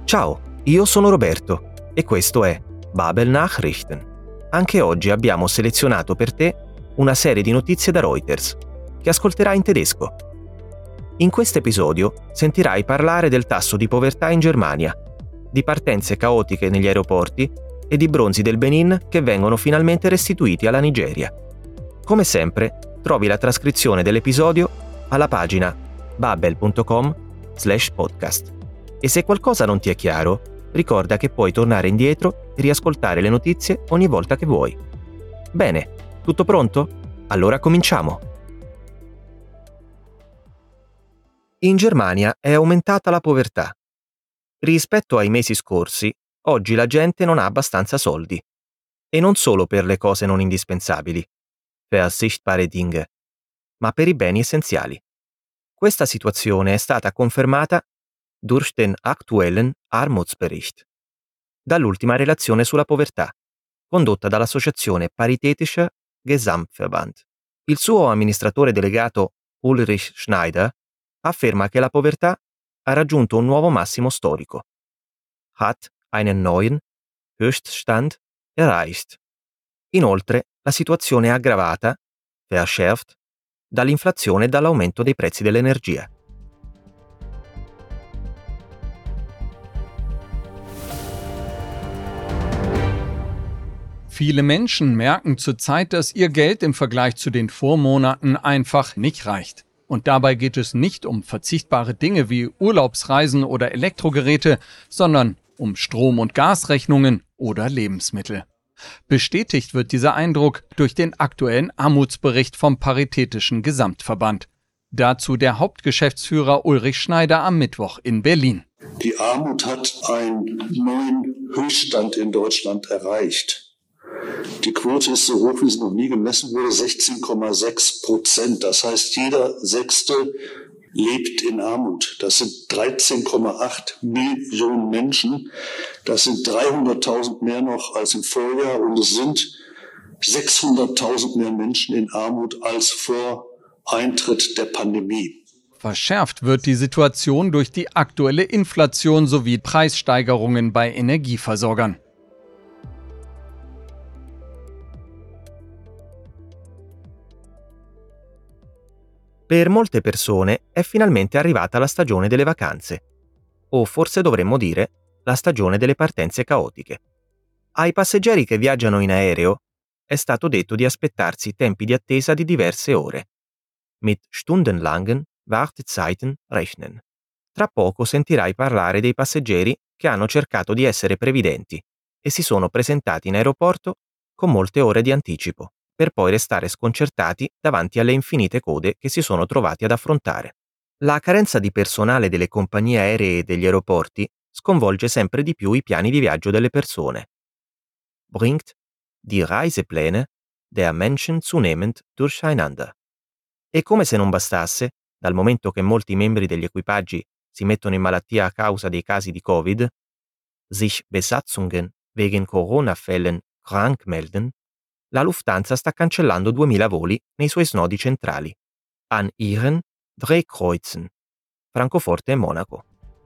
Ciao, io sono Roberto e questo è Babel Nachrichten. Anche oggi abbiamo selezionato per te una serie di notizie da Reuters, che ascolterai in tedesco. In questo episodio sentirai parlare del tasso di povertà in Germania, di partenze caotiche negli aeroporti e di bronzi del Benin che vengono finalmente restituiti alla Nigeria. Come sempre, trovi la trascrizione dell'episodio alla pagina babel.com/podcast. E se qualcosa non ti è chiaro, ricorda che puoi tornare indietro e riascoltare le notizie ogni volta che vuoi. Bene, tutto pronto? Allora cominciamo! In Germania è aumentata la povertà. Rispetto ai mesi scorsi, oggi la gente non ha abbastanza soldi. E non solo per le cose non indispensabili, verzichtbare Dinge, ma per i beni essenziali. Questa situazione è stata confermata durch den aktuellen Armutsbericht, dall'ultima relazione sulla povertà, condotta dall'associazione Paritätischer Gesamtverband. Il suo amministratore delegato Ulrich Schneider afferma che la povertà ha raggiunto un nuovo massimo storico. Hat einen neuen Höchststand erreicht. Inoltre, la situazione è aggravata, verschärft, dall'inflazione e dall'aumento dei prezzi dell'energia. Viele Menschen merken zurzeit, dass ihr Geld im Vergleich zu den Vormonaten einfach nicht reicht. Und dabei geht es nicht um verzichtbare Dinge wie Urlaubsreisen oder Elektrogeräte, sondern um Strom- und Gasrechnungen oder Lebensmittel. Bestätigt wird dieser Eindruck durch den aktuellen Armutsbericht vom Paritätischen Gesamtverband. Dazu der Hauptgeschäftsführer Ulrich Schneider am Mittwoch in Berlin. Die Armut hat einen neuen Höchststand in Deutschland erreicht. Die Quote ist so hoch, wie sie noch nie gemessen wurde, 16,6%. Das heißt, jeder Sechste lebt in Armut. Das sind 13,8 Millionen Menschen. Das sind 300.000 mehr noch als im Vorjahr und es sind 600.000 mehr Menschen in Armut als vor Eintritt der Pandemie. Verschärft wird die Situation durch die aktuelle Inflation sowie Preissteigerungen bei Energieversorgern. Per molte persone è finalmente arrivata la stagione delle vacanze, o forse dovremmo dire la stagione delle partenze caotiche. Ai passeggeri che viaggiano in aereo è stato detto di aspettarsi tempi di attesa di diverse ore. Mit stundenlangen Wartezeiten rechnen. Tra poco sentirai parlare dei passeggeri che hanno cercato di essere previdenti e si sono presentati in aeroporto con molte ore di anticipo, per poi restare sconcertati davanti alle infinite code che si sono trovati ad affrontare. La carenza di personale delle compagnie aeree e degli aeroporti sconvolge sempre di più i piani di viaggio delle persone. Bringt die Reisepläne der Menschen zunehmend durcheinander. E come se non bastasse, dal momento che molti membri degli equipaggi si mettono in malattia a causa dei casi di Covid, sich Besatzungen wegen Corona-Fällen krank melden, la Lufthansa sta cancellando 2000 voli nei suoi snodi centrali, an ihren Drehkreuzen, Francoforte e Monaco.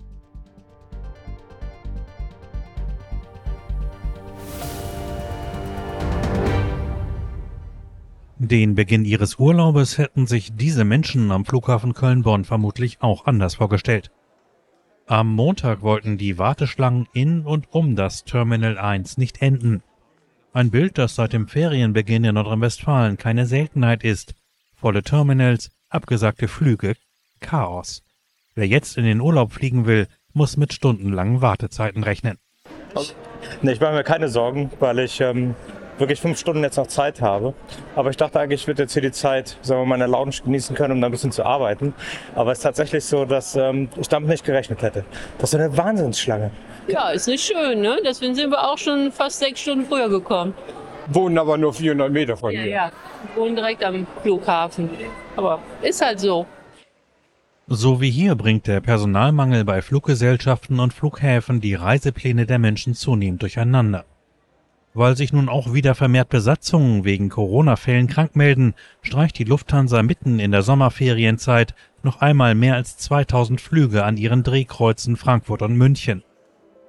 Den Beginn ihres Urlaubes hätten sich diese Menschen am Flughafen Köln-Bonn vermutlich auch anders vorgestellt. Am Montag wollten die Warteschlangen in und um das Terminal 1 nicht enden. Ein Bild, das seit dem Ferienbeginn in Nordrhein-Westfalen keine Seltenheit ist. Volle Terminals, abgesagte Flüge, Chaos. Wer jetzt in den Urlaub fliegen will, muss mit stundenlangen Wartezeiten rechnen. Ich mache mir keine Sorgen, weil ich wirklich 5 Stunden jetzt noch Zeit habe. Aber ich dachte eigentlich, ich würde jetzt hier die Zeit, sagen wir mal, in der Lounge genießen können, um da ein bisschen zu arbeiten. Aber es ist tatsächlich so, dass ich damit nicht gerechnet hätte. Das ist eine Wahnsinnsschlange. Ja, ist nicht schön, ne? Deswegen sind wir auch schon fast 6 Stunden früher gekommen. Wohnen aber nur 400 Meter von hier. Ja, wir wohnen direkt am Flughafen. Aber ist halt so. So wie hier bringt der Personalmangel bei Fluggesellschaften und Flughäfen die Reisepläne der Menschen zunehmend durcheinander. Weil sich nun auch wieder vermehrt Besatzungen wegen Corona-Fällen krank melden, streicht die Lufthansa mitten in der Sommerferienzeit noch einmal mehr als 2000 Flüge an ihren Drehkreuzen Frankfurt und München.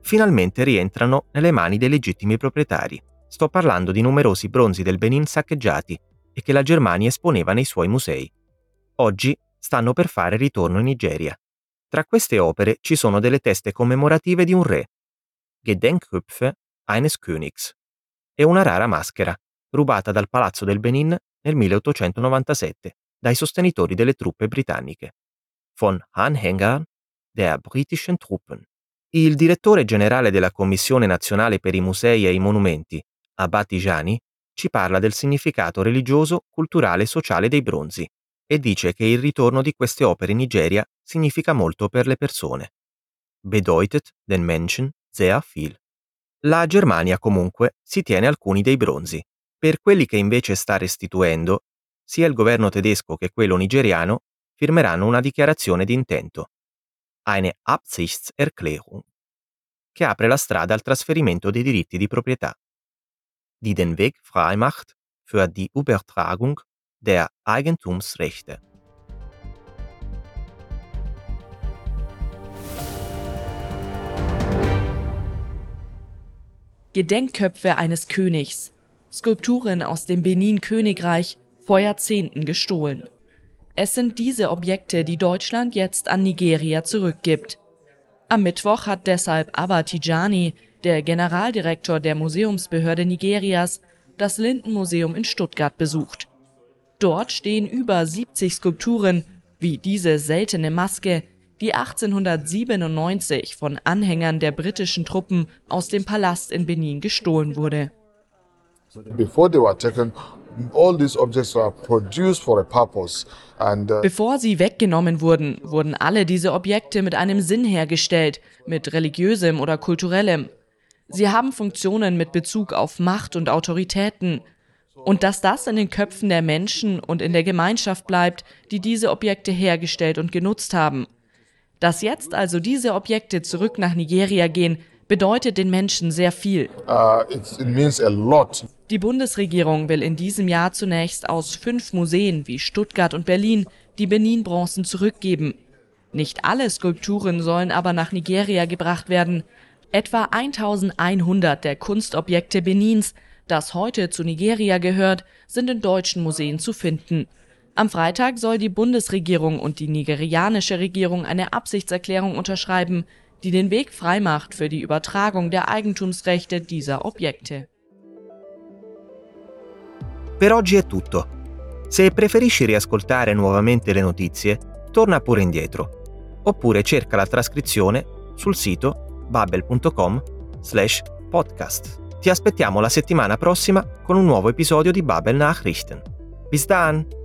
finalmente rientrano nelle mani dei legittimi proprietari. Sto parlando di numerosi bronzi del Benin saccheggiati e che la Germania esponeva nei suoi musei. Oggi stanno per fare ritorno in Nigeria. Tra queste opere ci sono delle teste commemorative di un re, Gedenkköpfe eines Königs, e una rara maschera, rubata dal Palazzo del Benin nel 1897 dai sostenitori delle truppe britanniche. Von Anhängern der britischen Truppen. Il direttore generale della Commissione Nazionale per i Musei e i Monumenti, Abba Tijani, ci parla del significato religioso, culturale e sociale dei bronzi e dice che il ritorno di queste opere in Nigeria significa molto per le persone. Bedeutet den Menschen sehr viel. La Germania comunque si tiene alcuni dei bronzi. Per quelli che invece sta restituendo, sia il governo tedesco che quello nigeriano firmeranno una dichiarazione di intento, eine Absichtserklärung, che apre la strada al trasferimento dei diritti di proprietà, die den Weg frei macht für die Übertragung der Eigentumsrechte. Gedenkköpfe eines Königs. Skulpturen aus dem Benin-Königreich, vor Jahrzehnten gestohlen. Es sind diese Objekte, die Deutschland jetzt an Nigeria zurückgibt. Am Mittwoch hat deshalb Abba Tijani, der Generaldirektor der Museumsbehörde Nigerias, das Lindenmuseum in Stuttgart besucht. Dort stehen über 70 Skulpturen, wie diese seltene Maske, die 1897 von Anhängern der britischen Truppen aus dem Palast in Benin gestohlen wurde. Before they were taken, all these objects were produced for a purpose. Bevor sie weggenommen wurden, wurden alle diese Objekte mit einem Sinn hergestellt, mit religiösem oder kulturellem. Sie haben Funktionen mit Bezug auf Macht und Autoritäten. Und dass das in den Köpfen der Menschen und in der Gemeinschaft bleibt, die diese Objekte hergestellt und genutzt haben. Dass jetzt also diese Objekte zurück nach Nigeria gehen, bedeutet den Menschen sehr viel. It means a lot. Die Bundesregierung will in diesem Jahr zunächst aus 5 Museen wie Stuttgart und Berlin die Benin-Bronzen zurückgeben. Nicht alle Skulpturen sollen aber nach Nigeria gebracht werden. Etwa 1100 der Kunstobjekte Benins, das heute zu Nigeria gehört, sind in deutschen Museen zu finden. Am Freitag soll die Bundesregierung und die nigerianische Regierung eine Absichtserklärung unterschreiben, die den Weg freimacht für die Übertragung der Eigentumsrechte dieser Objekte. Per oggi è tutto. Se preferisci riascoltare nuovamente le notizie, torna pure indietro, oppure cerca la trascrizione sul sito babbel.com/podcast. Ti aspettiamo la settimana prossima con un nuovo episodio di Babbel Nachrichten. Bis dann!